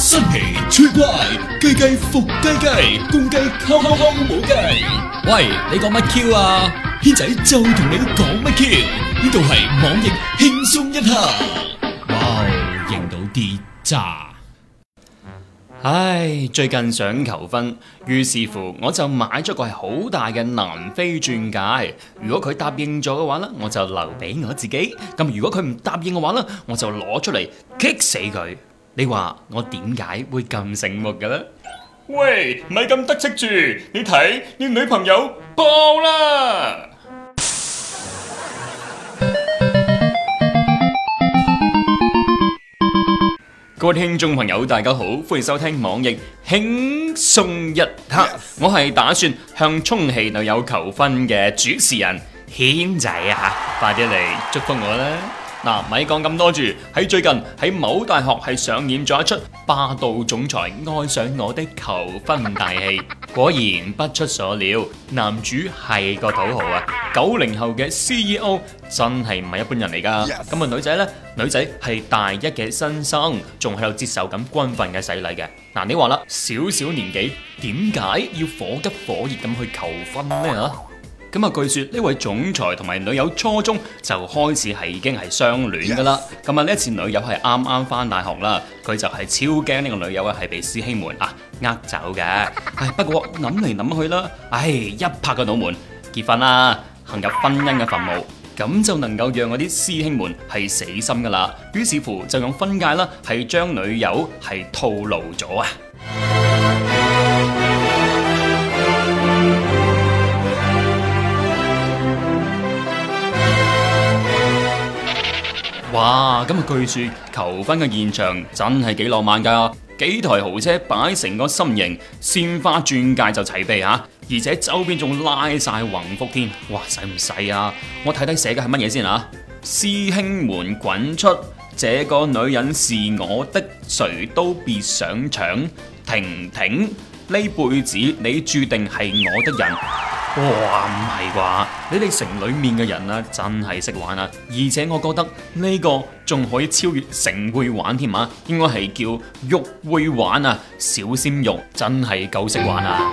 新奇趣怪，雞雞伏雞雞，公雞扣扣扣冇雞。喂，你講乜 Q 啊？軒仔就同你講乜 Q？呢度係網易輕鬆一刻。哇，認到啲渣。 唉，最近想求婚，於是乎我就買咗個係好大嘅南非鑽戒。如果佢答應咗嘅話呢，我就留俾我自己；咁如果佢唔答應嘅話呢，我就攞出嚟激死佢。你話我點解會咁醒目嘅呢？喂，咪咁得戚住，你睇你女朋友爆啦！各位聽眾朋友，大家好，歡迎收聽網易輕鬆一刻。我係打算向充氣女友求婚嘅主持人軒仔啊，快啲嚟祝福我啦！嗱，咪講咁多住，喺最近喺某大學係上演咗一出霸道總裁愛上我的求婚大戲。果然不出所料，男主係個土豪啊，90後嘅 CEO 真係唔係一般人嚟噶。咁啊女仔呢？女仔係大一嘅新生，仲喺度接受緊軍訓嘅洗禮嘅。嗱，你話啦，小小年紀點解要火急火熱咁去求婚呢？咁啊，據說呢位總裁同埋女友初中就開始係已經係相戀噶啦。咁啊，呢一次女友係啱啱翻大學啦，佢就係超驚呢個女友係被師兄們呃走嘅。唉，不過諗嚟諗去啦，一拍個腦門，結婚啦，行入婚姻嘅墳墓，咁就能夠讓嗰啲師兄們係死心噶啦。於是乎就用婚戒啦，係將女友係套路咗啊！哇！咁啊，據說求婚嘅現場真係幾浪漫噶，幾台豪車擺成個心形，鮮花鑽戒就齊備吓，而且周邊仲拉晒橫幅添。哇！使唔使啊？我睇睇寫嘅係乜嘢先啊？師兄們滾出，這個女人是我的，誰都別想搶。婷婷，呢輩子你注定係我的人。哇，唔係啩？你哋城裏面嘅人啊，真係識玩啊！而且我覺得呢個仲可以超越城會玩添啊，應該係叫肉會玩啊！小鮮肉真係夠識玩啊！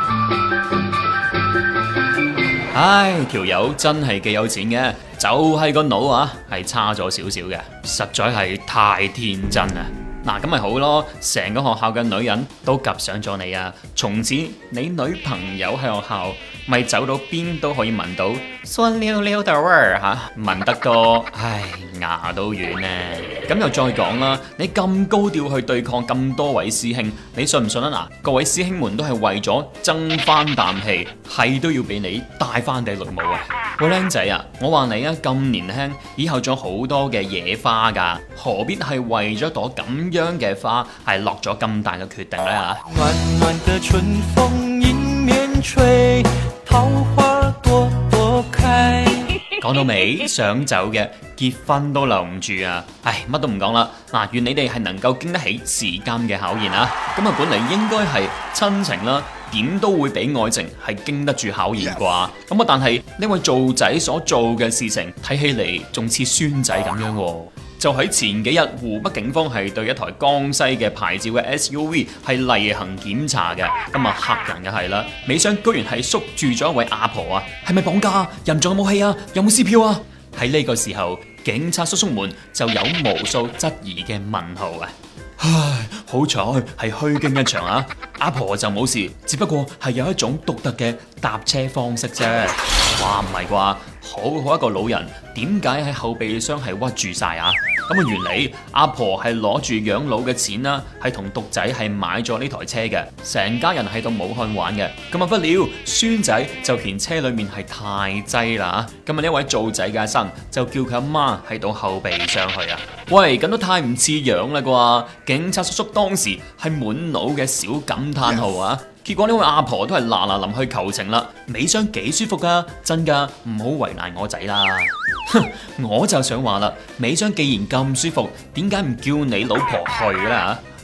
唉，條友真係幾有錢嘅，就係個腦啊，係差咗少少嘅，實在係太天真啦！嗱，咁咪好咯，成個學校嘅女人都及上咗你啊！從此你女朋友喺學校咪走到邊都可以聞到酸溜溜的味兒嚇，聞得多，唉，牙都軟呢。咁又再講啦，你咁高調去對抗咁多位師兄，你信唔信啊？嗱，各位師兄們都係為咗爭翻啖氣，係都要俾你戴翻頂綠帽啊！喂，靚仔啊，我話你啊，咁年輕，以後仲有好多嘅野花㗎，何必係為咗朵咁樣嘅花係落咗咁大嘅決定呢？嚇？ 暖暖的春風迎面吹，桃花朵朵開。 講到尾，想走嘅結婚都留唔住啊！唉，乜都唔講啦。嗱，願你哋係能夠經得起時間嘅考驗啊！咁啊，本嚟應該係親情啦，點都會比愛情係經得住考驗啩？咁啊，但係呢位做仔所做嘅事情，睇起嚟仲似孫仔咁樣喎。就喺前幾日，湖北警方係對一台江西嘅牌照嘅 SUV 係例行檢查嘅。咁啊，嚇人嘅係啦，尾箱居然係縮住咗一位阿婆啊！係咪綁架？人仲有冇氣啊？有冇撕票啊？喺呢個時候，警察叔叔們就有無數質疑嘅問號啊！唉，好彩係虛驚一場啊！阿婆就冇事，只不過係有一種獨特嘅搭車方式啫。哇，唔係啩？好好一個老人，點解喺後備箱係屈住晒啊？咁啊，原嚟阿婆係攞住養老嘅錢啦，係同獨仔係買咗呢台車嘅，成家人喺到武漢玩嘅。咁啊，不料孫仔就嫌車裏面係太擠啦。咁啊，呢位做仔嘅阿生就叫佢阿媽喺到後備箱去啊。喂，咁都太唔似樣啦啩！警察叔叔當時係滿腦嘅小感嘆號啊！結果呢位阿婆都係嗱嗱臨去求情啦，尾箱幾舒服噶，真噶，唔好為難我仔啦。哼，我就想話啦，尾箱既然咁舒服，點解唔叫你老婆去啦？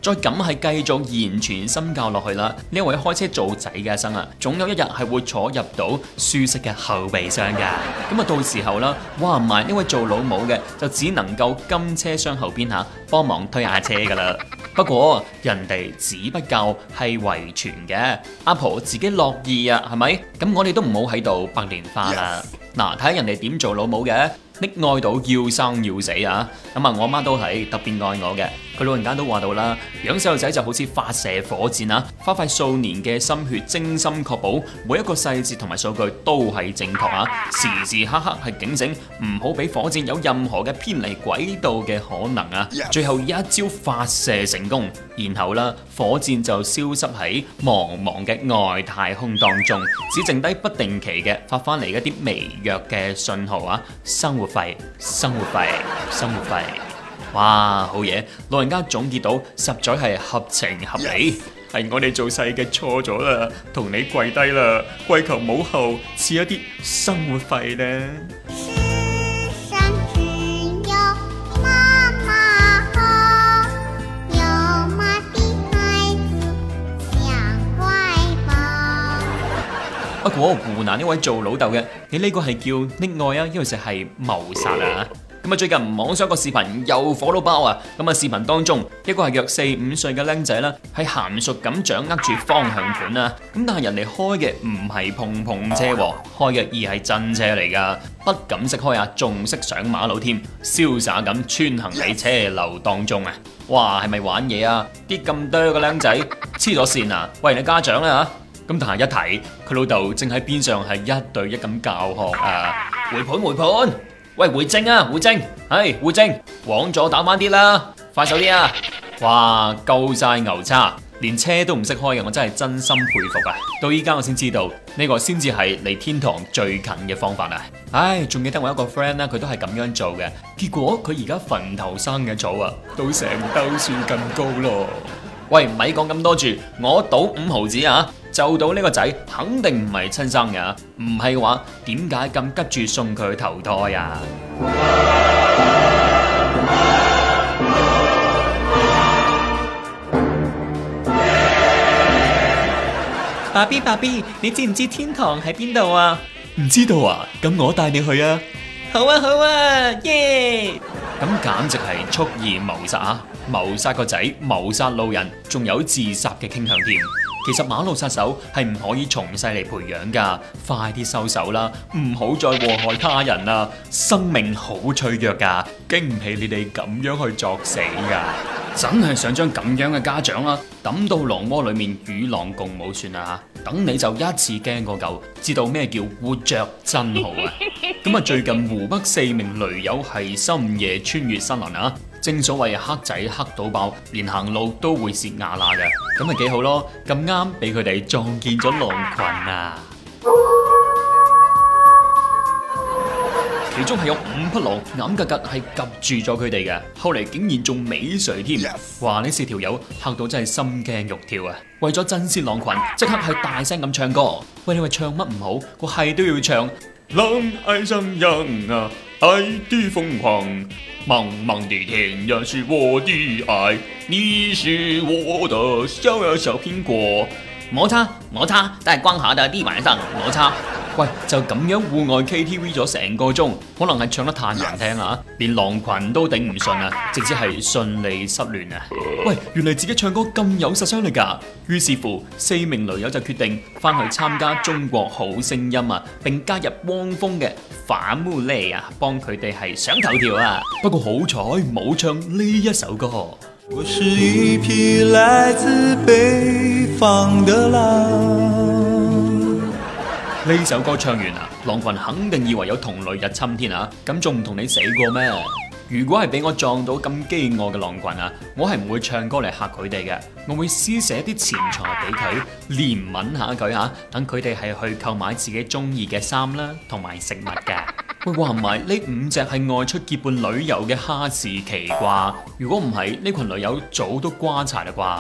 再咁係繼續言傳身教落去啦，呢位開車做仔嘅阿生啊，總有一日係會坐入到舒適嘅後備箱㗎。咁啊，到時候啦，話唔埋呢位做老母嘅就只能夠跟車廂後邊嚇幫忙推下車㗎啦。不過人哋只不過係遺傳嘅，阿婆自己樂意啊，係咪？咁我哋都唔好喺度白蓮花啦。嗱，睇下人哋點做老母嘅。溺愛到要生要死啊！咁啊，我媽都係特別愛我嘅。佢老人家都話到啦，養細路仔就好似發射火箭啊，花費數年嘅心血，精心確保每一個細節同埋數據都係正確啊！時時刻刻係警醒，唔好俾火箭有任何嘅偏離軌道嘅可能啊！最後一招發射成功，然後啦，火箭就消失喺茫茫嘅外太空當中，只剩低不定期嘅發翻嚟一啲微弱嘅信號啊！生活費，生活費，生活費。哇，好嘢！老人家總結到，實在係合情合理。係我哋做細嘅錯咗啦，同你跪低啦，跪求母後賜一啲生活費呢。 世上只有媽媽好，有媽的孩子像懷抱。 不過湖南呢位做老豆嘅，你呢個係叫溺愛啊，因為就係謀殺啊！咁啊，最近網上個視頻又火到爆啊！咁啊，視頻當中一個係約4、5歲嘅僆仔啦，係嫻熟咁掌握住方向盤啊！咁但係人哋開嘅唔係碰碰車，開嘅而係真車嚟噶，不敢識開啊，仲識上馬路添，瀟灑咁穿行喺車流當中啊！哇，係咪玩嘢啊？啲咁多嘅僆仔黐咗線啊！喂，你家長啦嚇！咁但係一睇佢老豆正喺邊上係一對一咁教學啊！回盤回盤！喂，回正啊，回正，係回正，往左打翻啲啦，快手啲啊！哇，夠晒牛叉，連車都唔識開嘅，我真係真心佩服啊！到依家我先知道呢個先至係離天堂最近嘅方法啊！唉，仲記得我一個 friend 咧，佢都係咁樣做嘅，結果佢而家墳頭生嘅草啊，都成兜樹咁高咯！喂，唔係講咁多住，我賭5毫子啊！就到呢個仔肯定唔係親生嘅，唔係嘅話點解咁急住送佢去投胎啊？爸 B 爸 B， 你知唔知天堂喺邊度啊？唔知道啊？咁我帶你去啊！好啊好啊，耶！咁簡直係蓄意謀殺啊！謀殺個仔，謀殺路人，仲有自殺嘅傾向添。其實馬路殺手係唔可以從細嚟培養噶，快啲收手啦，唔好再禍害他人啦，生命好脆弱噶，經唔起你哋咁樣去作死噶，真係想將咁樣嘅家長啦抌到狼窩裏面與狼共舞算啦，等你就一次驚過夠，知道咩叫活着真好啊！咁啊，最近湖北4名驢友係深夜穿越森林啊！正所謂黑仔黑到爆，連行路都會蝕牙罅嘅，咁咪幾好咯！咁啱俾佢哋撞見咗狼群啊！其中係有5匹狼眼格格係及住咗佢哋嘅，後嚟竟然仲尾隨添，哇！呢4條友嚇到真係心驚肉跳啊！為咗震懾狼群，即刻係大聲咁唱歌。喂，你話唱乜唔好？個係都要唱。狼愛上人啊，愛的瘋狂，茫茫的天也是我的愛，你是我的小蘋果。摩擦摩擦，在光滑的地板上摩擦。喂，就咁樣戶外 KTV 咗成個鐘，可能係唱得太難聽啦，連狼群都頂唔順啊，直接係順利失聯啊！喂，原來自己唱歌咁有殺傷力㗎，於是乎4名驢友就決定翻去參加中國好聲音啊，並加入汪峰嘅反烏哩啊，幫佢哋係上頭條啊！不過好彩冇唱呢一首歌。 我是一匹來自北方的狼。 呢首歌唱完啊，狼群肯定以為有同類入侵添啊，咁仲唔同你死過咩？如果係俾我撞到咁飢餓嘅狼群啊，我係唔會唱歌嚟嚇佢哋嘅，我會施捨啲錢財俾佢，憐憫下佢嚇，等佢哋係去購買自己中意嘅衫啦，同埋食物嘅。喂，話唔埋呢5隻係外出結伴旅遊嘅哈士奇啩？如果唔係，呢群驢友早都瓜柴啦啩？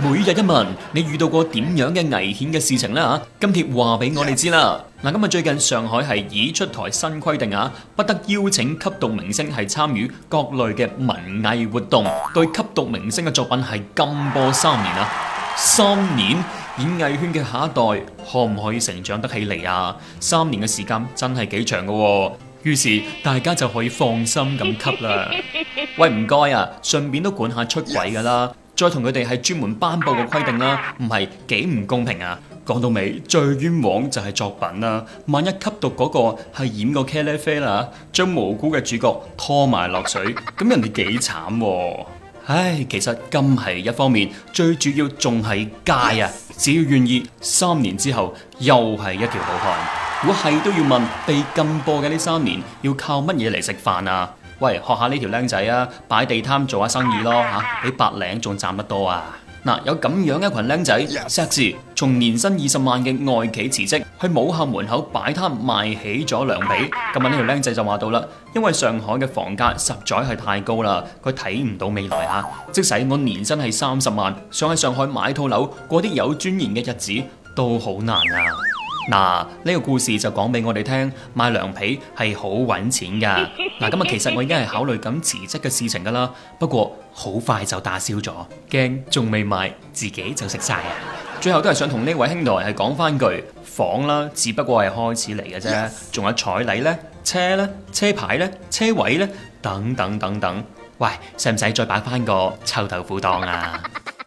每日一問，你遇到過點樣嘅危險嘅事情呢？今帖話俾我哋知啦。嗱，今日最近上海係已出台新規定啊，不得邀請吸毒明星係參與各類嘅文藝活動，對吸毒明星嘅作品係禁播3年啊！3年，演藝圈嘅下一代可唔可以成長得起嚟啊？3年嘅時間真係幾長噶喎。於是大家就可以放心咁吸啦。喂，唔該啊，順便都管下出軌噶啦，再同佢哋係專門頒布個規定啦，唔係幾唔公平啊！講到尾，最冤枉就係作品啦。萬一吸毒嗰個係演個茄喱啡啦，將無辜嘅主角拖埋落水，咁人哋幾慘喎！唉，其實禁係一方面，最主要仲係戒啊！只要願意，3年之後又係一條好漢。如果係都要問，被禁播嘅呢3年要靠乜嘢嚟食飯啊？喂，學下呢條僆仔啊，擺地攤做下生意咯嚇，比白領仲賺得多啊！嗱，有咁樣一群僆仔，碩士從年薪20萬嘅外企辭職，去母校門口擺攤賣起咗涼皮。今日呢條僆仔就話到啦，因為上海嘅房價實在係太高啦，佢睇唔到未來啊！即使我年薪係30萬，想喺上海買套樓，過啲有尊嚴嘅日子都好難啊！嗱，呢個故事就講俾我哋聽，賣涼皮係好揾錢噶。嗱，今日其實我已經係考慮緊辭職嘅事情噶啦，不過好快就打消咗，驚仲未賣自己就食晒啊！最後都係想同呢位兄台係講翻句，房啦，只不過係開始嚟嘅啫，仲有彩禮呢、車呢、車牌呢、車位呢，等等等等。喂，使唔使再擺翻個臭豆腐檔啊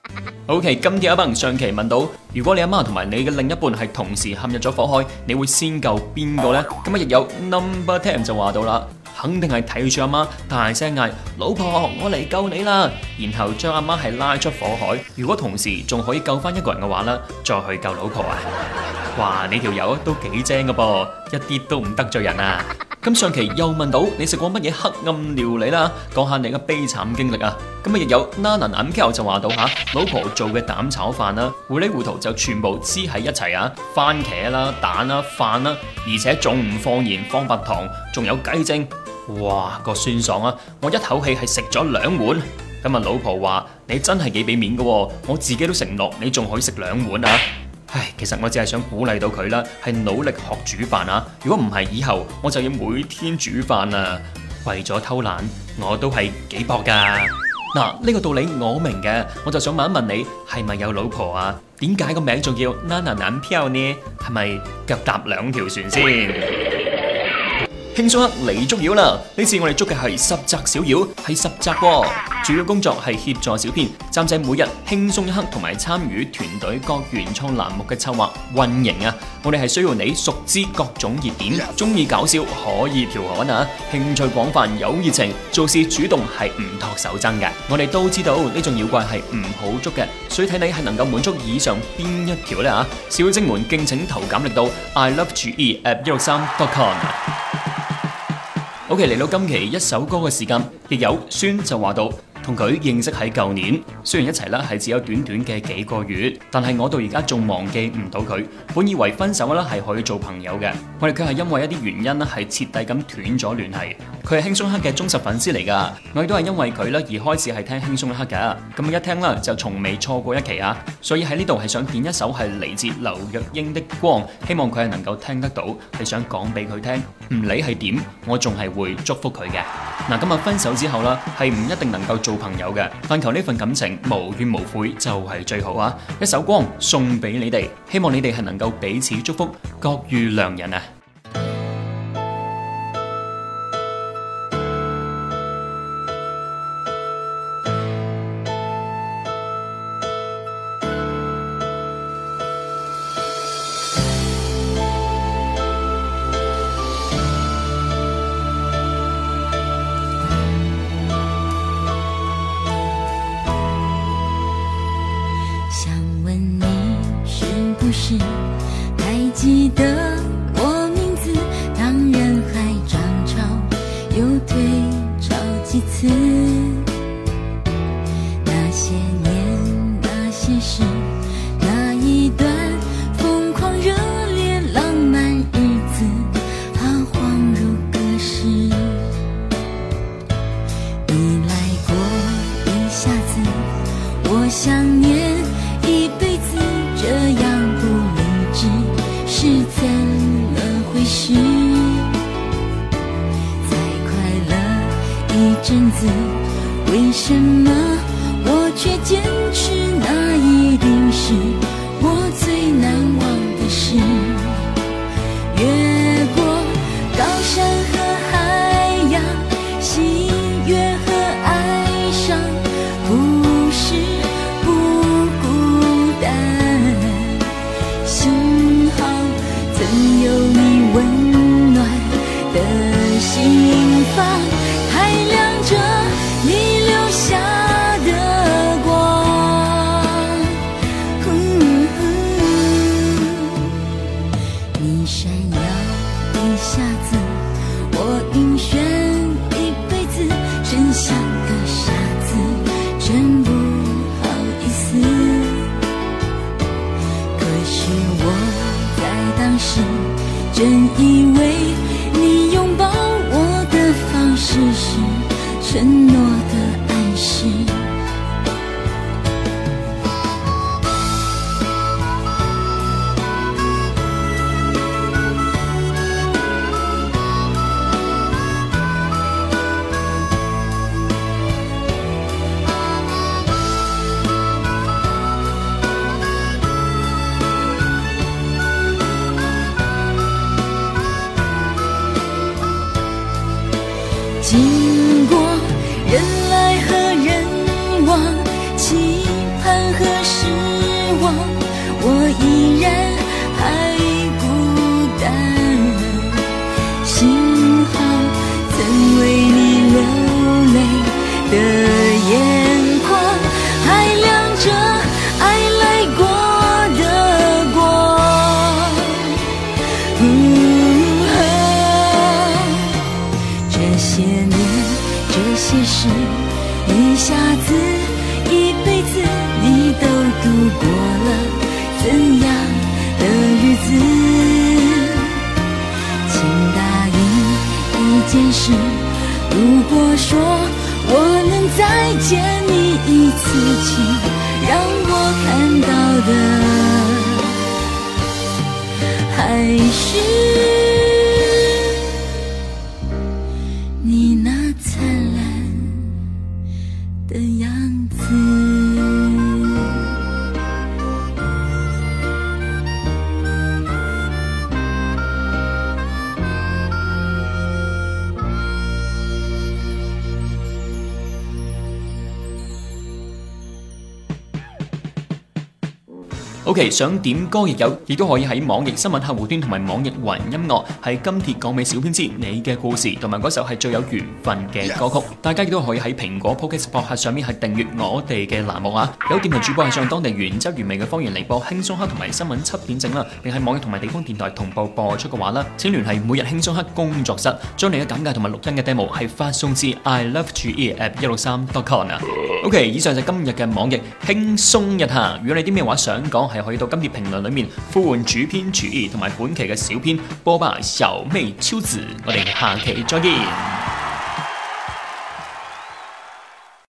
？OK， 今天阿鵬上期問到，如果你阿媽同埋你嘅另一半係同時陷入咗火海，你會先救邊個呢？咁啊，亦有 Number 10就話到啦，肯定係睇住阿媽大聲嗌老婆，我嚟救你啦，然後將阿媽係拉出火海。如果同時仲可以救翻一個人嘅話呢，再去救老婆啊！哇，你條友都幾精噶噃，一啲都唔得罪人啊！咁上期又問到你食過乜嘢黑暗料理啦？講下你嘅悲慘經歷啊！咁啊亦有 Nana MK 就話到吓，老婆做嘅蛋炒飯啦，糊里糊塗就全部黐喺一齊啊！番茄啦、蛋啦、飯啦，而且仲唔放鹽放白糖，仲有雞精，哇個酸爽啊！我一口氣係食咗2碗。咁啊老婆話你真係幾俾面噶，我自己都食唔落，你仲可以食2碗啊！唉，其實我只係想鼓勵到佢啦，係努力學煮飯啊！如果唔係，以後我就要每天煮飯啊！為咗偷懶，我都係幾搏噶。嗱，呢個道理我明嘅，我就想問一問你，係咪有老婆啊？點解個名仲叫 Nana 男票呢？係咪腳踏2條船先？輕鬆黑嚟捉妖啦！呢次我哋捉嘅係十隻小妖，係10隻喎。主要工作係協助小編監製每日輕鬆一刻，同埋參與團隊各原創欄目嘅策劃運營啊！我哋係需要你熟知各種熱點，中意搞笑可以調侃啊，興趣廣泛有熱情，做事主動係唔托手踭嘅。我哋都知道呢種妖怪係唔好捉嘅，所以睇你係能夠滿足以上邊一條呢？小精們敬請投簡歷到 iLoveGE@163.com。OK， 嚟到今期一首歌嘅時間，亦有孫就話到，同佢認識喺舊年，雖然一齊啦係只有短短嘅幾個月，但係我到而家仲忘記唔到佢。本以為分手啦係可以做朋友嘅，我哋卻係因為一啲原因啦係徹底咁斷咗聯繫。佢係輕鬆一刻嘅忠實粉絲嚟噶，我亦都係因為佢啦而開始係聽輕鬆一刻噶。咁一聽啦就從未錯過一期啊！所以喺呢度係想點一首係嚟自劉若英的光，希望佢係能夠聽得到，係想講俾佢聽，唔理係點，我仲係會祝福佢嘅。嗱，今日分手之後啦，係唔一定能夠做朋友嘅，但求呢份感情無怨無悔就係最好啊！一首光送俾你哋，希望你哋係能夠彼此祝福，各遇良人啊！ 还记得我名字，当人海涨潮又退潮几次，那些年那些事，那一段疯狂热烈浪漫日子，它恍如隔世。你来过一下子，我想念一阵子，为什么我却坚持那一定是我最难忘的事？越过高山和海洋，喜悦和哀伤，不是不孤单。幸好曾有你温暖的心房，还亮着你留下的光。你闪耀一下子，我晕眩一辈子，真像个傻子，真不好意思。可是我在当时真以为你拥抱我的方式是承诺的暗示。经过人来和人往，期盼和失望，我依然还孤单。幸好曾为你流泪的眼眶，还亮着爱来过的光。这些年这些事，一下子一辈子，你都度过了怎样的日子？请答应一件事，如果说我能再见你一次，请让我看到的还是你那灿烂的样子。 OK， 想點歌亦有，亦都可以喺網易新聞客戶端同埋網易雲音樂，係今帖講俾小編知你嘅故事同埋嗰首係最有緣分嘅歌曲。大家亦都可以喺蘋果 Podcast 博客上面係訂閱我哋嘅欄目啊。有電台主播係上當地原汁原味嘅方言嚟播輕鬆黑同埋新聞7點正啦，並喺網易同埋地方電台同步播出嘅話啦，請聯繫每日輕鬆黑工作室，將你嘅簡介同埋錄音嘅 demo 係發送至 iLoveGE@163.com 啊。OK， 以上就今日嘅網易輕鬆一下。如果你啲咩話想講，係可以到今帖評論裏面呼喚主編主義同埋本期嘅小編波霸小妹秋子。我哋下期再見。